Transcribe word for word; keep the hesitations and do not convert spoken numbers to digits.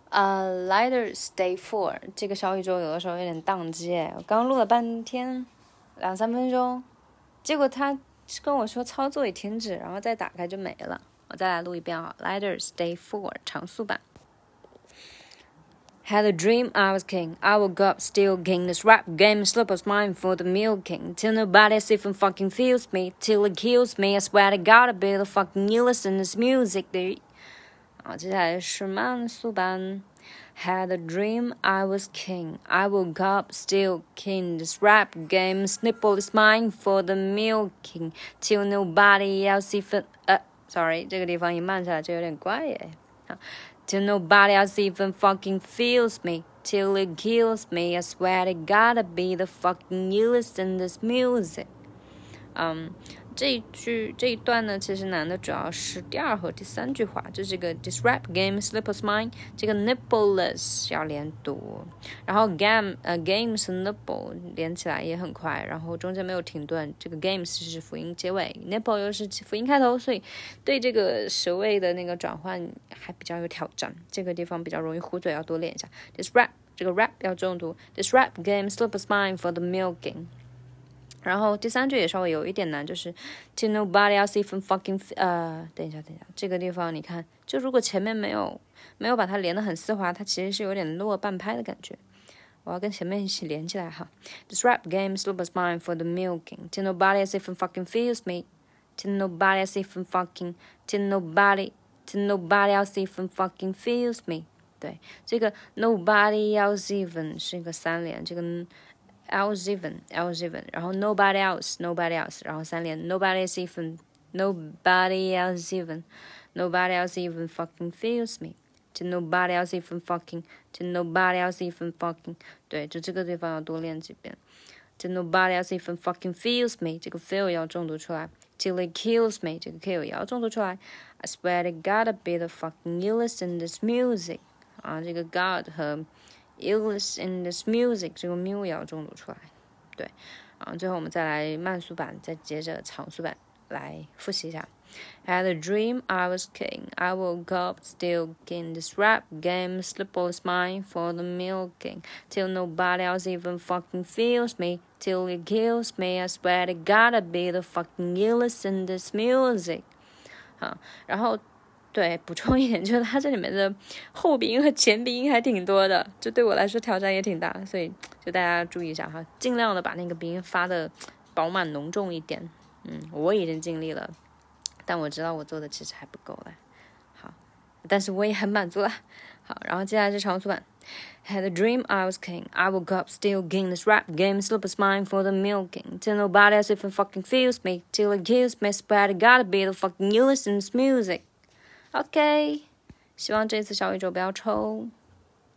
呃、uh, Lighters Day Four 这个小宇宙有的时候有点宕机，我刚录了半天，两三分钟，结果他跟我说操作已停止，然后再打开就没了。我再来录一遍啊 ，Lighters Day Four 长速版。Had a dream I was king, I woke up still king. This rap game slip was mine for the milking. Till nobody else even fucking feels me, till it kills me. I swear to God, I be the fucking newest in this music. 好，接下来是慢速版。Had a dream I was king, I woke up still king. This rap game snipple is mine for the milking. Till nobody else even 呃 ，sorry， 这个地方一慢下来就有点怪耶。Till nobody else even fucking feels me, till it kills me. I swear to God, I be the fucking newest in this music. 嗯、um, 这一句这一段呢，其实难的主要是第二和第三句话，就这个 This rap game slippers mine， 这个 nippleless 要连读，然后 game 呃 games 和 nipple 连起来也很快，然后中间没有停顿，这个 games 是辅音结尾 ，nipple 又是辅音开头，所以对这个舌位的那个转换还比较有挑战，这个地方比较容易糊嘴，要多练一下。This rap 这个 rap 要重读 ，This rap game slippers mine for the milking。然后第三句也稍微有一点难，就是 till nobody else even fucking 呃，等一下，等一下，这个地方你看，就如果前面没有没有把它连得很丝滑，它其实是有点落半拍的感觉。我要跟前面一起连起来哈。This rap game slippers mine for the milking. Till nobody else even fucking feels me. Till nobody else even fucking. Till nobody. Till nobody else even fucking feels me. 对，这个 nobody else even 是一个三连，这个。else even, else even, 然后 nobody else, nobody else, 然后三连 nobody else even, nobody else even, nobody else even fucking feels me, to nobody else even fucking, to nobody else even fucking, 对，就这个地方要多练几遍。to nobody else even fucking feels me， 这个 feel 要重读出来。till it kills me， 这个 kill 也要重读出来。I swear to God, I be the fucking illest in this music， 啊，这个 God 和illest in this music 这个 mu 也要重读出来，对，啊，最后我们再来慢速版，再接着长速版来复习一下。Had a dream I was king, I woke up still king. This rap game slipper is mine for the milking. Till nobody else even fucking feels me, till it kills me. I swear to God, I be the fucking illest in this music. 好，然后。对，补充一点，就是它这里面的后鼻音和前鼻音还挺多的，就对我来说挑战也挺大，所以就大家注意一下哈，尽量的把那个鼻音发的饱满浓重一点。嗯，我已经尽力了，但我知道我做的其实还不够了。好，但是我也很满足了。好，然后接下来是长速版。Had a dream I was king, I woke up still king. This rap game slippers mine for the milking. Till nobody else even fucking feels me, till it kills me. Swear to God, be the fucking newest in this music.OK， 希望这次小宇宙不要抽。